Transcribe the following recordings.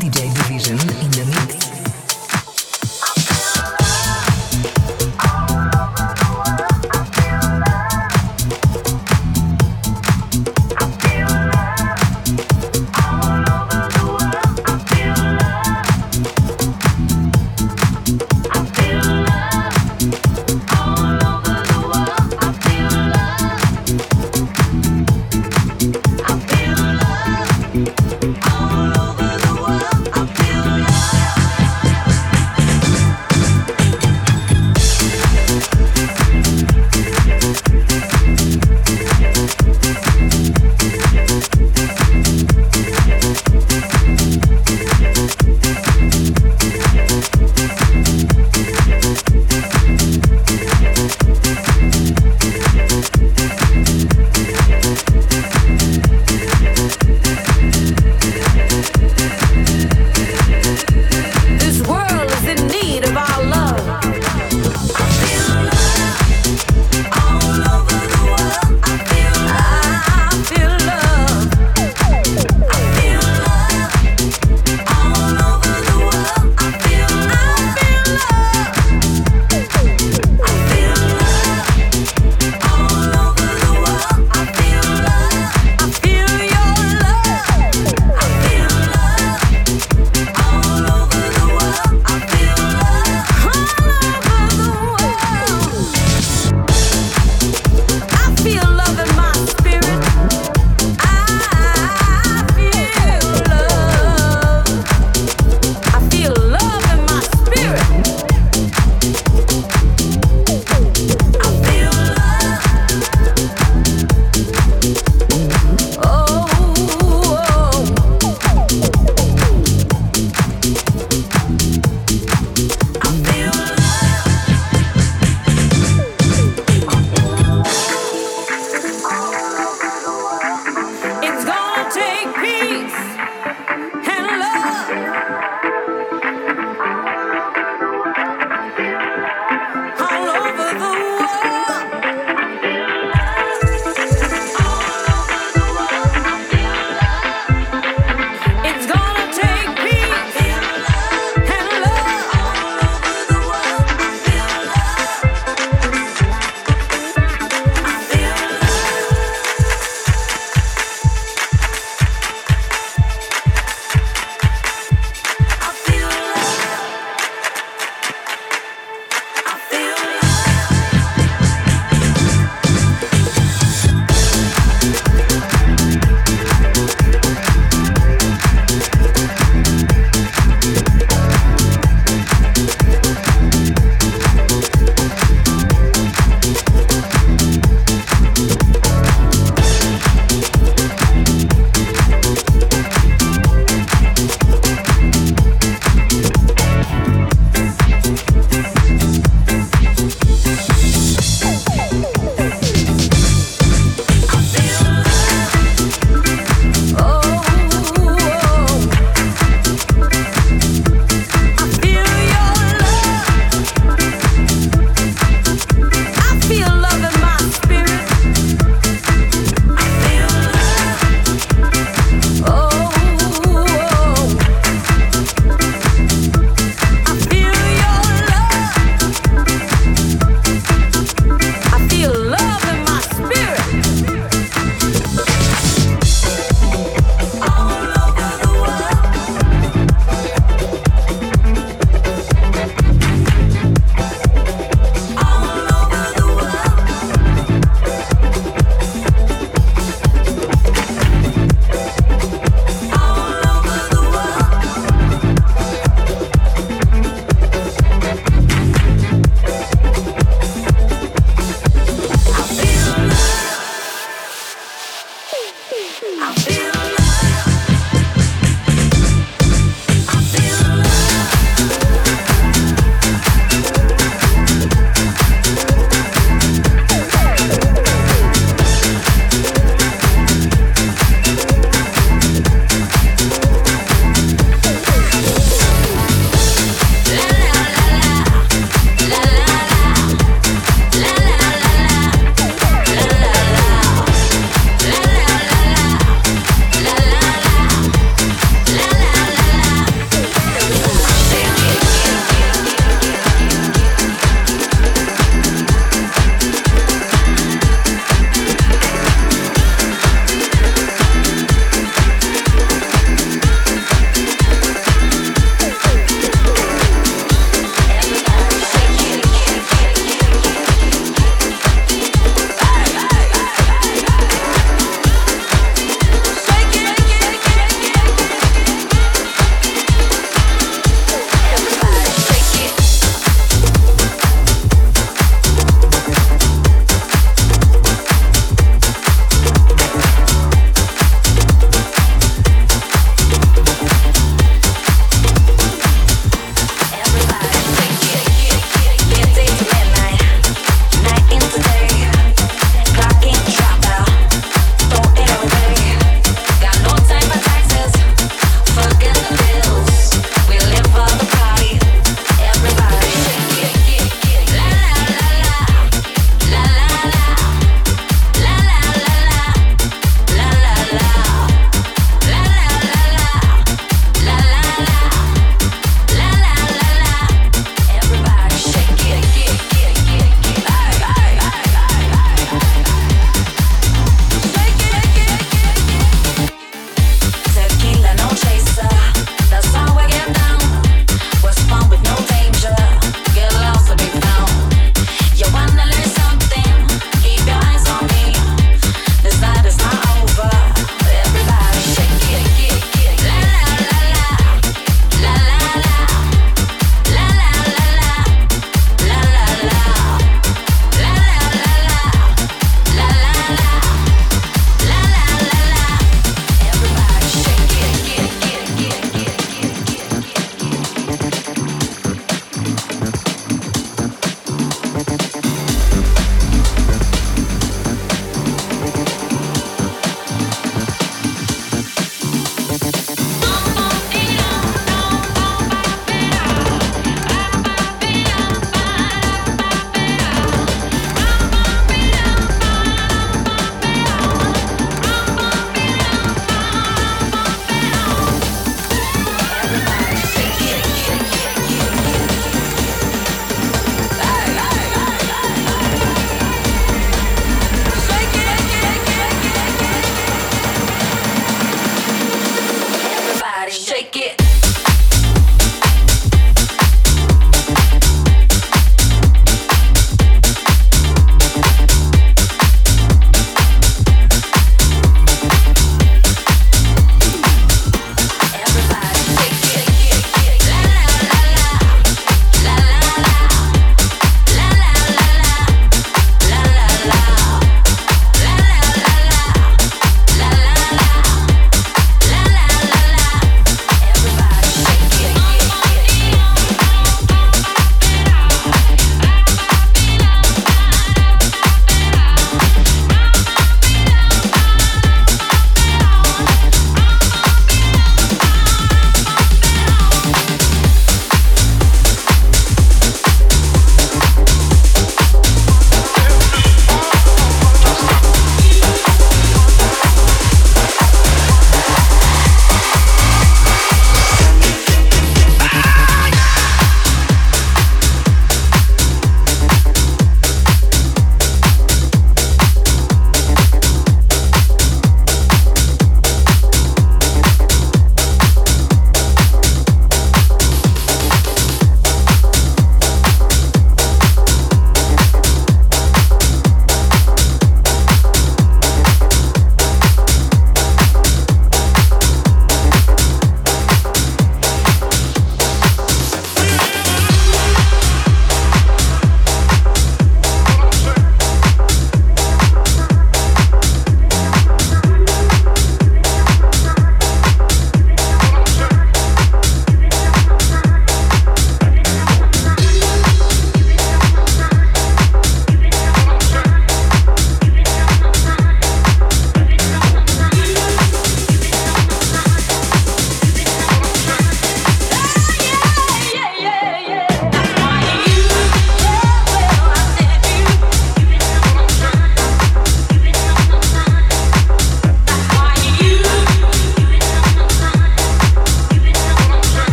DJ Division in the mix.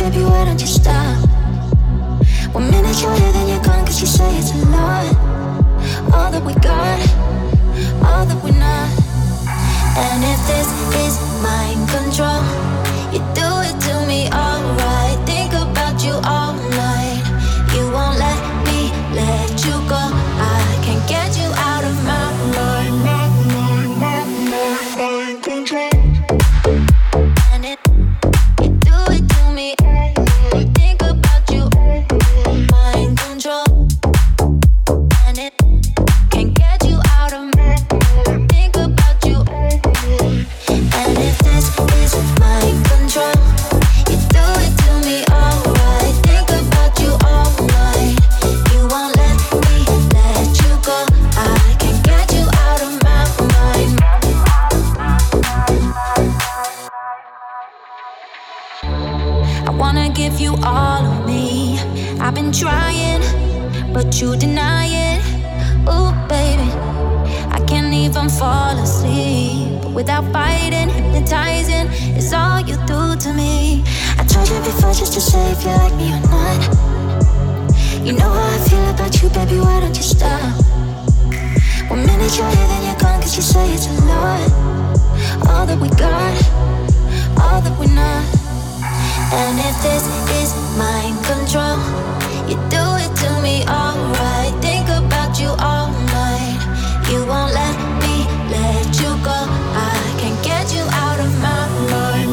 baby, why don't you stop? 1 minute you're here, then you're gone, 'cause you say it's a lot. All that we got, all that we're not. And if this is mind control, you do it to me alright. Think about you all night. You won't let me let you go. I can't get you out of my mind. Mind control. And it, you do it to me. Think about you. Mind control. And it can't get you out of my mind. Think about you. And if this is mind control, you do it to me alright. Think about you all night. You won't let me let you go. I can't get you out of my mind. I wanna give you all of me. I've been trying, but you deny it. Ooh, baby, I can't even fall asleep without fighting. Hypnotizing is all you do to me. I tried you before just to say if you like me or not. You know how I feel about you, baby, why don't you stop? 1 minute you're here, then you're gone, 'cause you say it's a lot. All that we got, all that we're not. And if this is mind control, you do it to me alright. Think about you all night. You won't let me let you go. I can't get you out of my mind.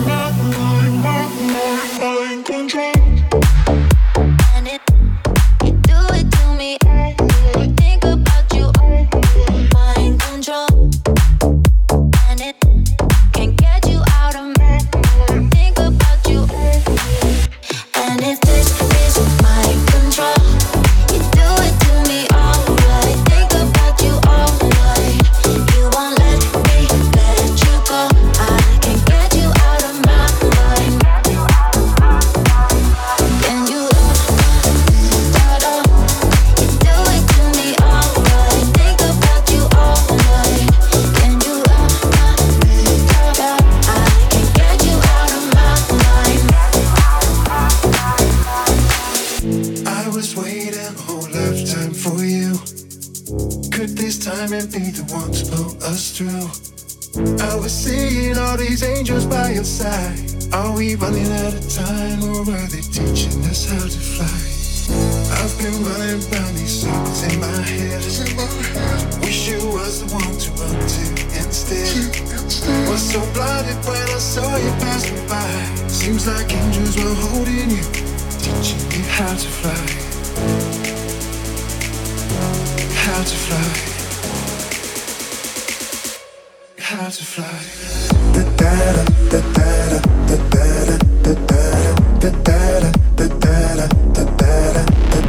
Mind control. And it, you do it to me. Think about you. Mind control. And it can't get you out of my mind. Think about you. And if this is mind control, you do it to me alright. Think about you all night. You won't let me let you go. I can't get you out of my mind. Can you da-da? You do it to me alright. Think about you all night. Can you da-da? I can't get you out of my mind. I was waiting a whole lifetime for you. Could this time and be the one to pull us through? I was seeing all these angels by your side. Are we running out of time, or are they teaching us how to fly? I've been running round these circles in my head. Wish you was the one to run to instead. Was so blinded when I saw you pass me by. Seems like angels were holding you, teaching you how to fly. How to fly. How to fly. Da da da da da da da da da da da da da da da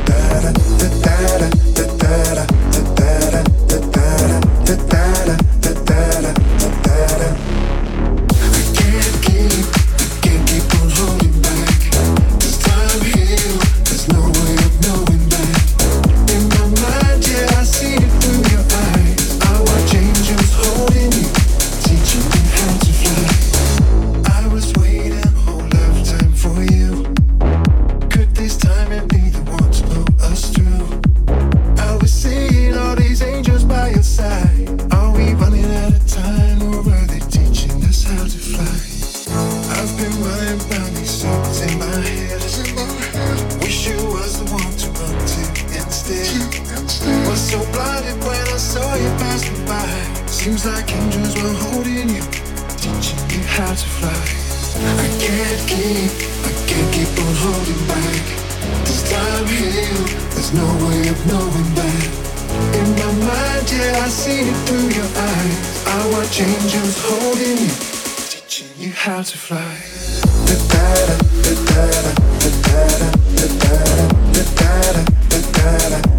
Seems like angels were holding you, teaching you how to fly. I can't keep on holding back. This time healed, there's no way of knowing that. In my mind, yeah, I see it through your eyes. I watch angels holding you, teaching you how to fly. Da da da da da da da da da da da da da.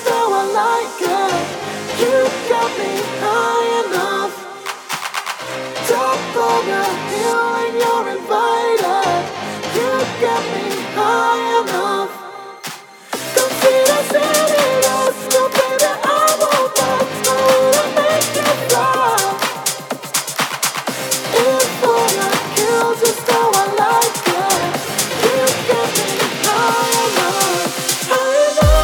how I like it. You got me high enough. Top of the hill and you're invited. You got me high enough. Come see the city, let's go, baby. I won't back. I wanna make you fly. In for the kill, just how I like it. You got me high enough. High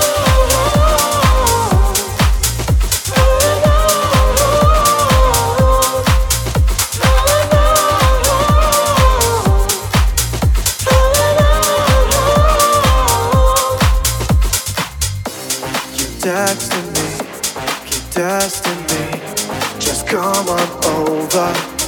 enough. High enough. You texting me, keep testing me. Just come on over.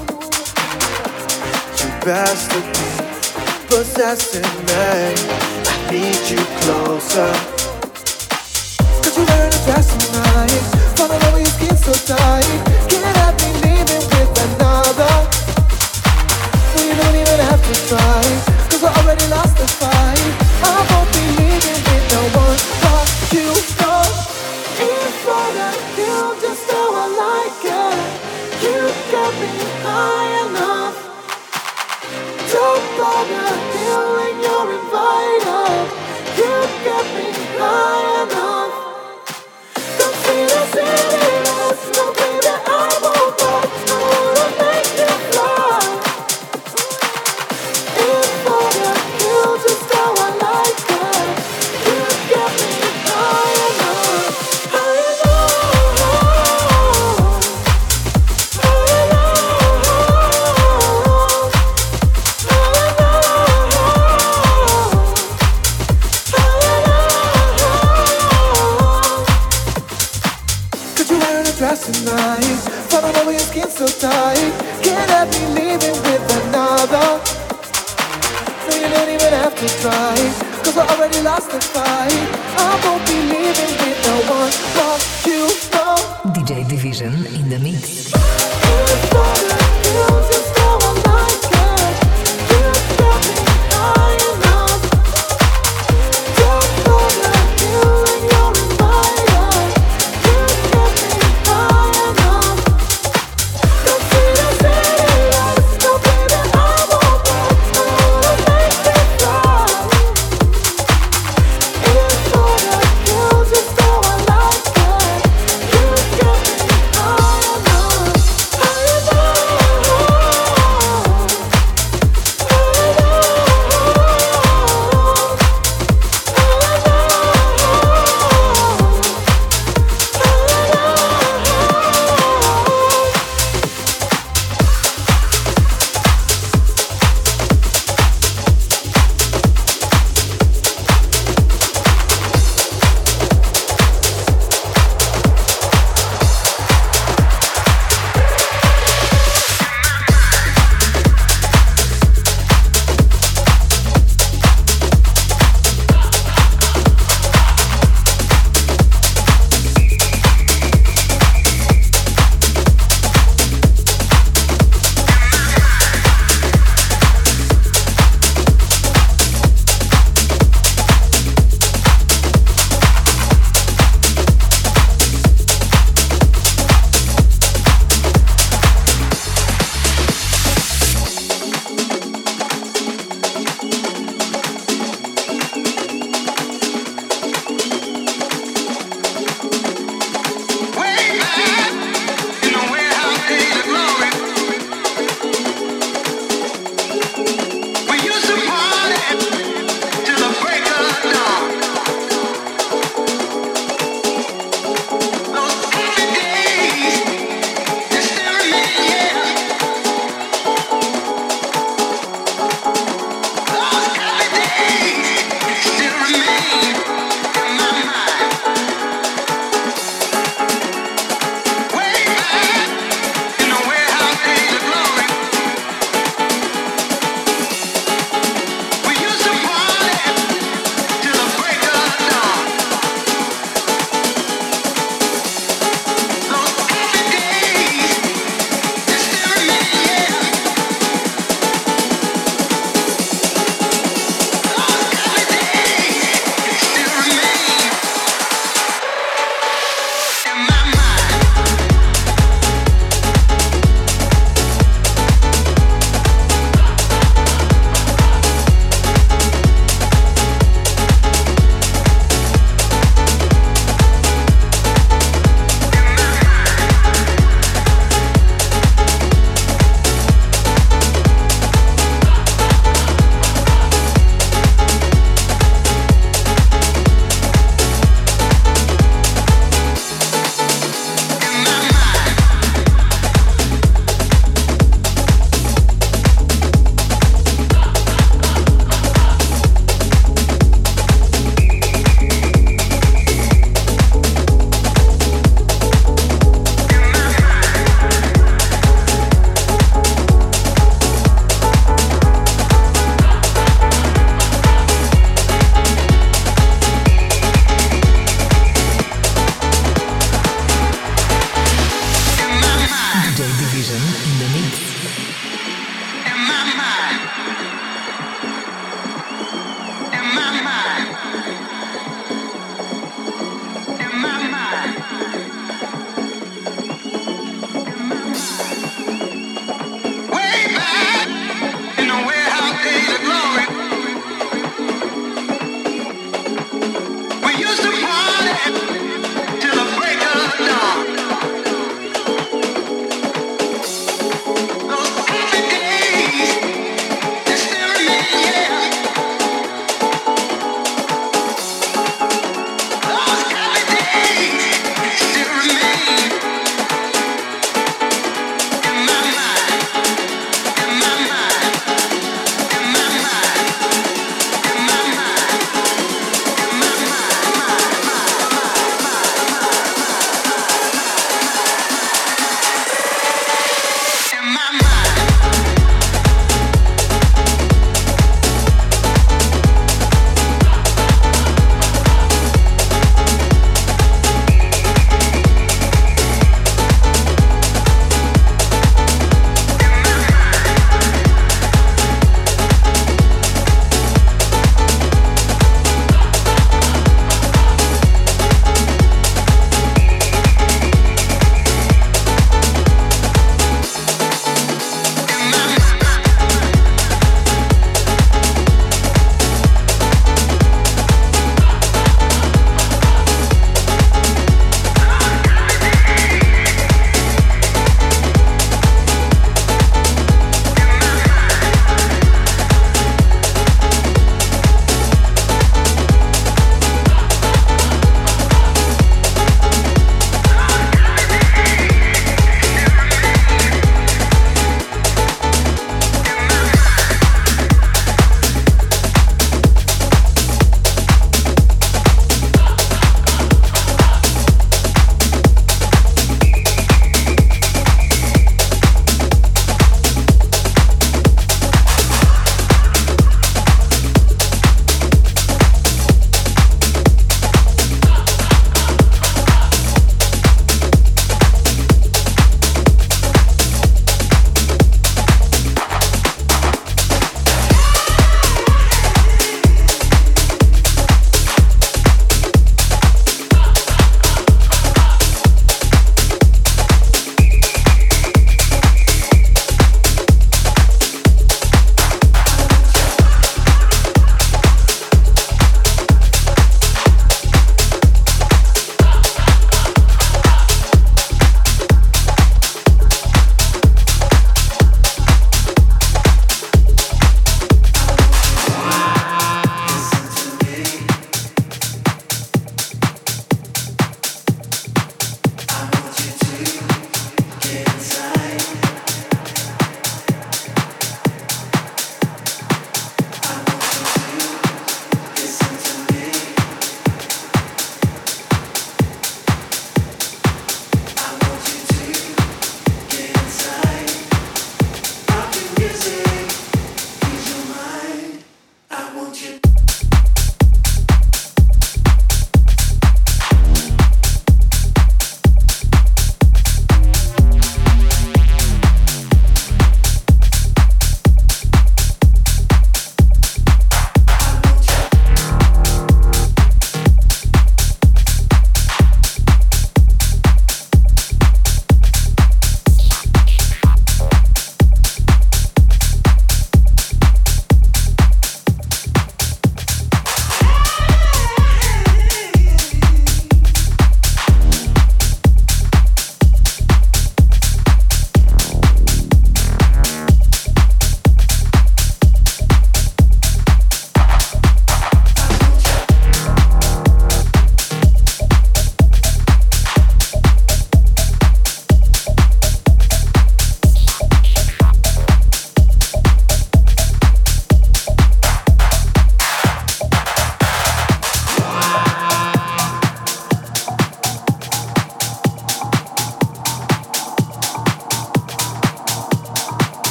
You bested me, possessing me. I need you closer. Cause you wearing a dress tonight. Falling over your skin so tight. Can't have me leaving with another. No, you don't even have to try. Cause I already lost the fight. I won't be leaving with no one but you. Know. In for the kill, just how I like it. You got me high enough. Top of the hill and you're invited. You got me high enough. Come see the city, let's go, baby. I won't back. I wanna make you fly. In for the kill, just how I like it. You got me high enough. High enough. High enough. Cause you're wearing a dress tonight. Falling over your skin so tight. Can't have me leaving with another. No, you don't even have to try. Cause I already lost the fight. I won't be leaving with no one but you. Know. DJ Division in the mix. Just how I like it. You got me high enough.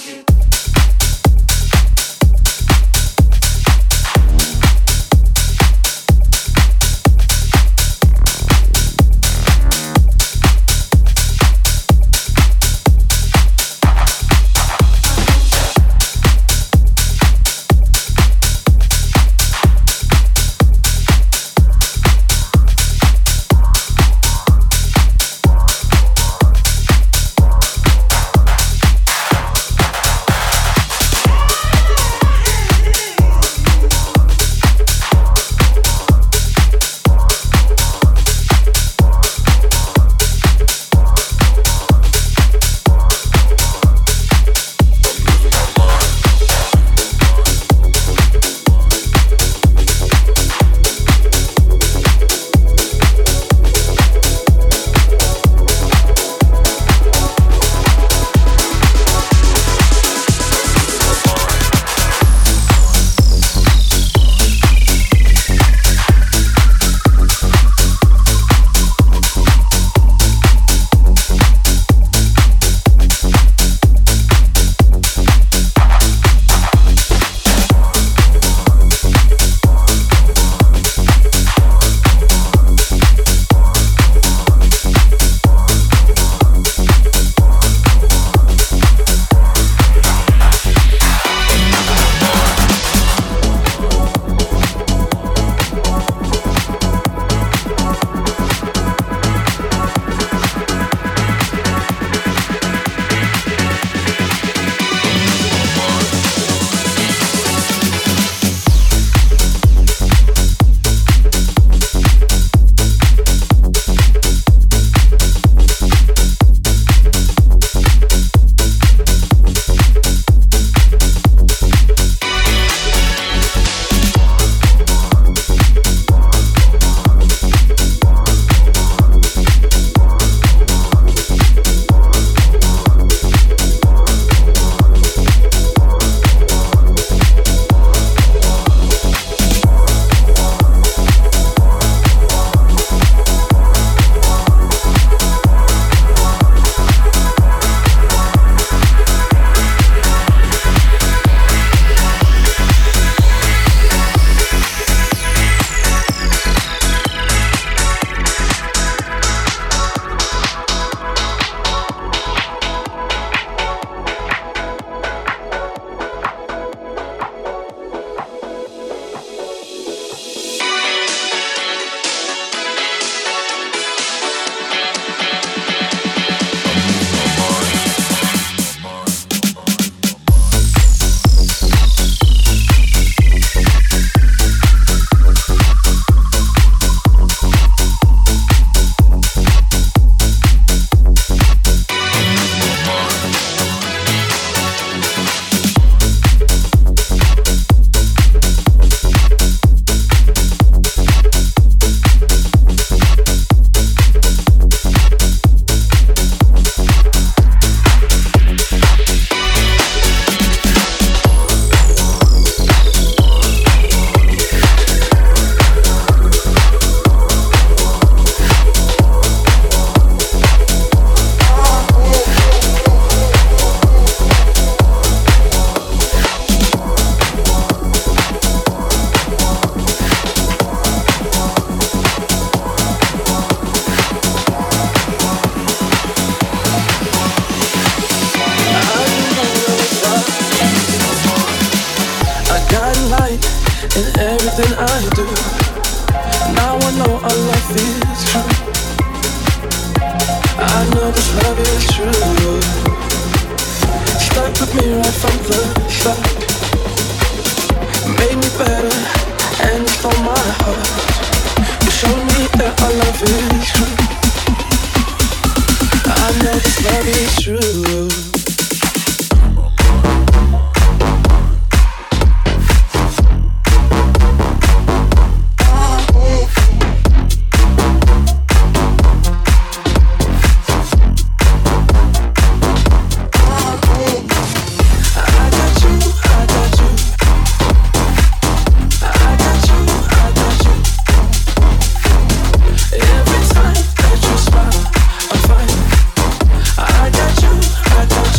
I got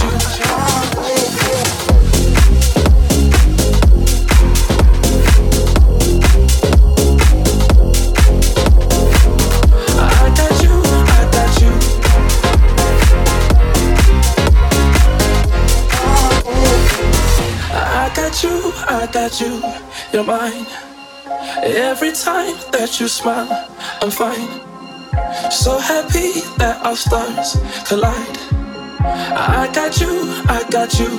I got you, you're mine. Every time that you smile, I'm fine. So happy that our stars collide. I got you, I got you.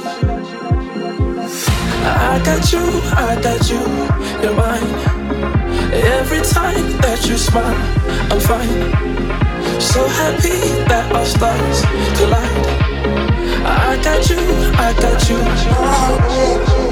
I got you, you're mine. Every time that you smile, I'm fine. So happy that our stars collide. I got you, I got you.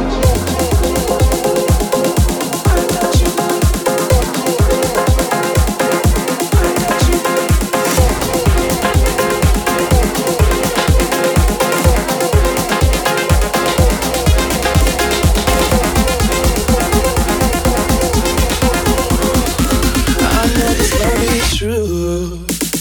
True.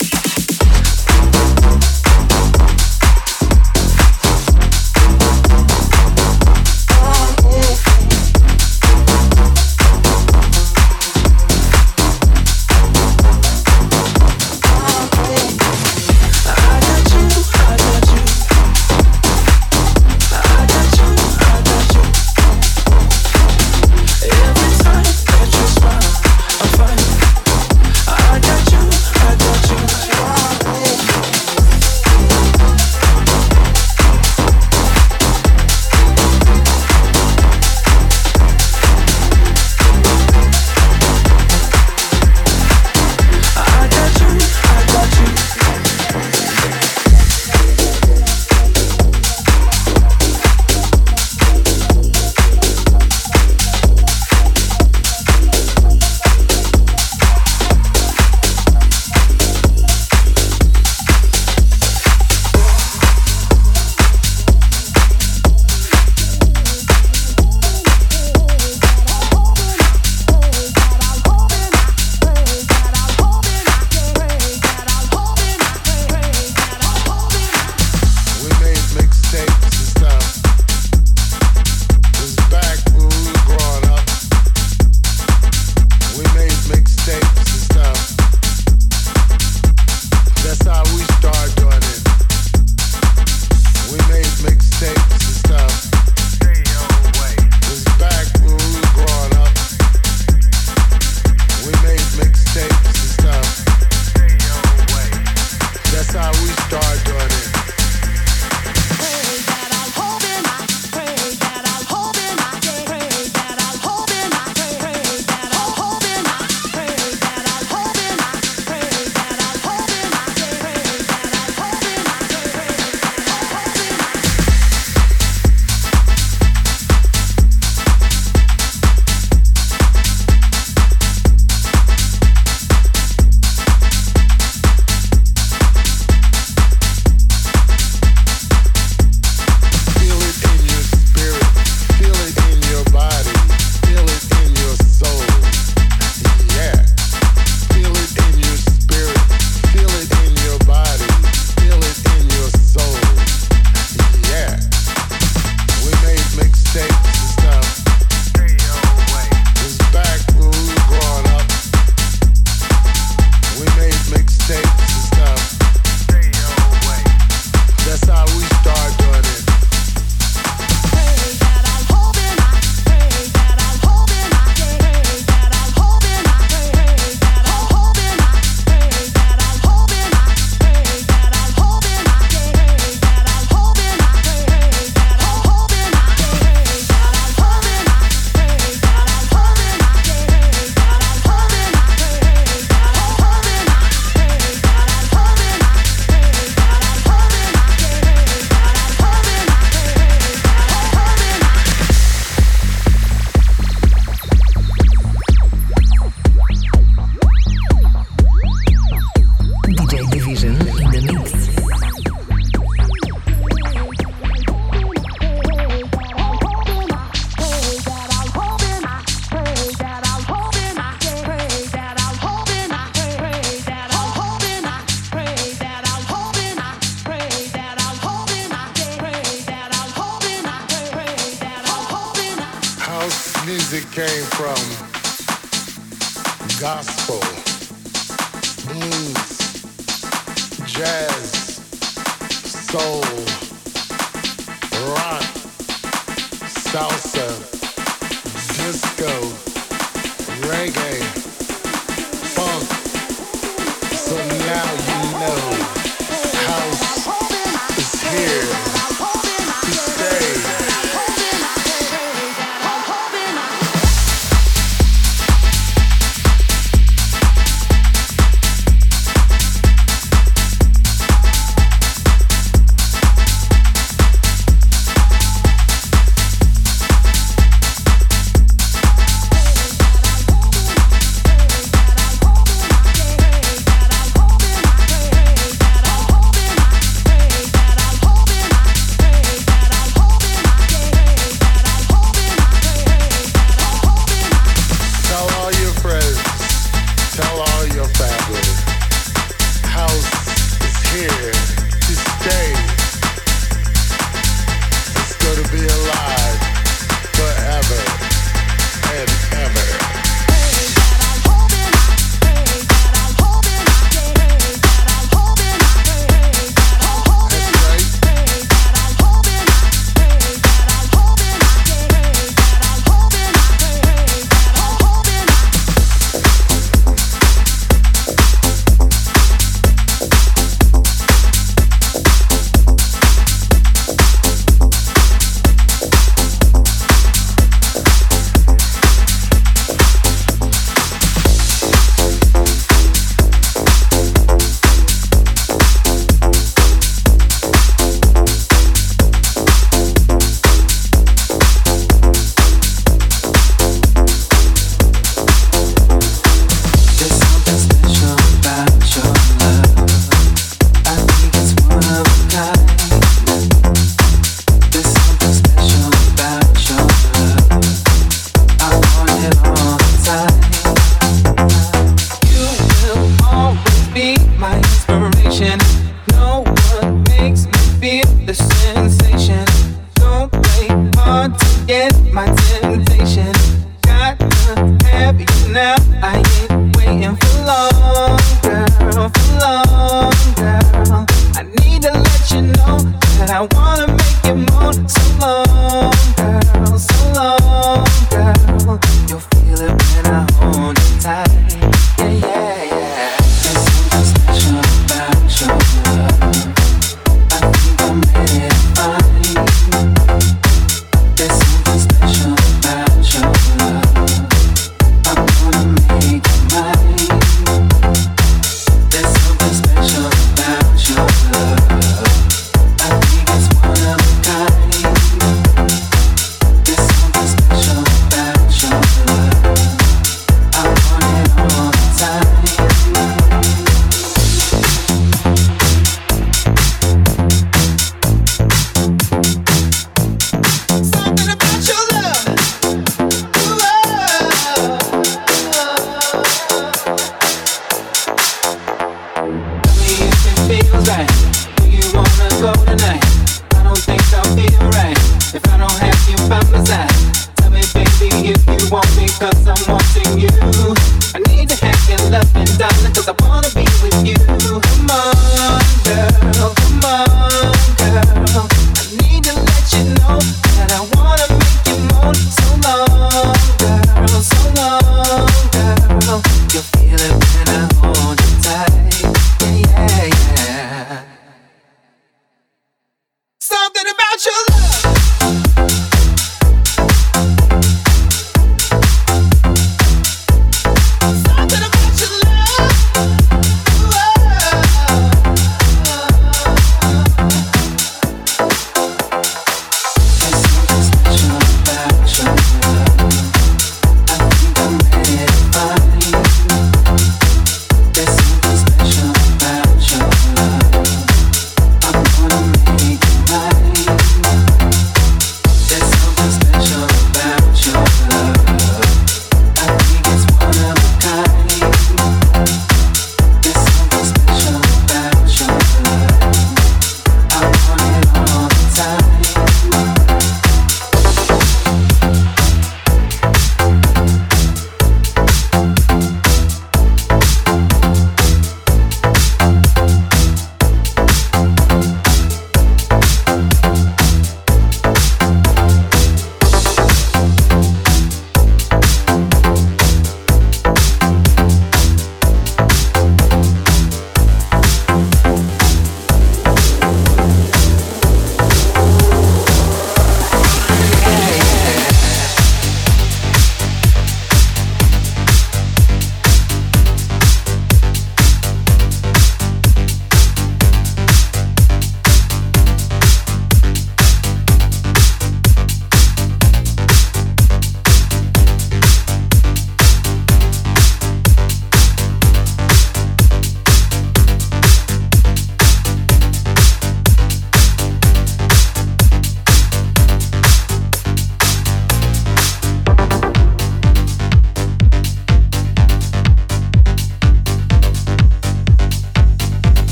music came from gospel, blues, jazz, soul, rock, salsa, disco, reggae, funk. So now you know house is here to stay.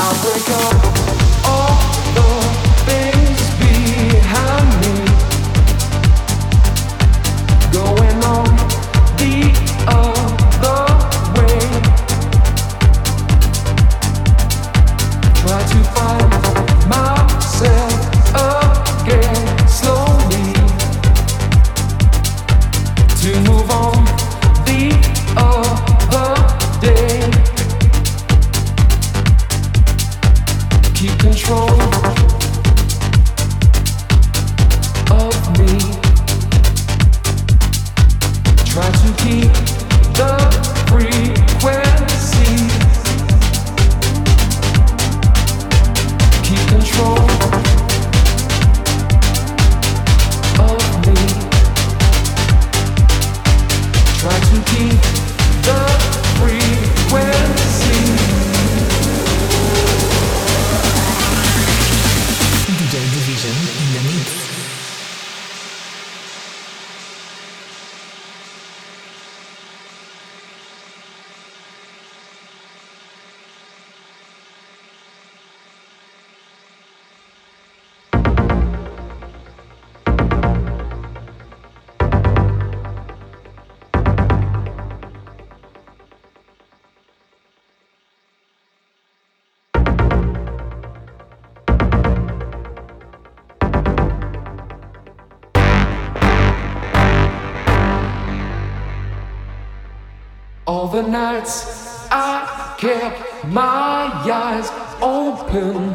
All the nights I kept my eyes open.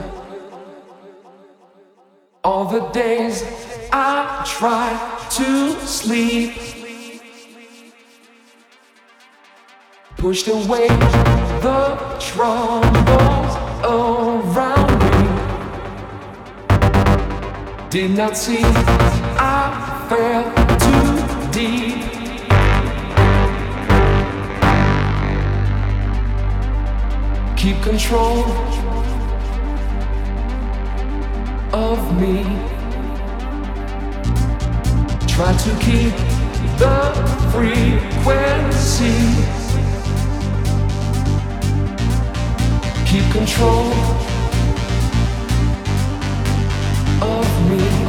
All the days I tried to sleep. Pushed away the troubles around me. Did not see I fell too deep. Keep control of me. Try to keep the frequency. Keep control of me.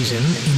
Division in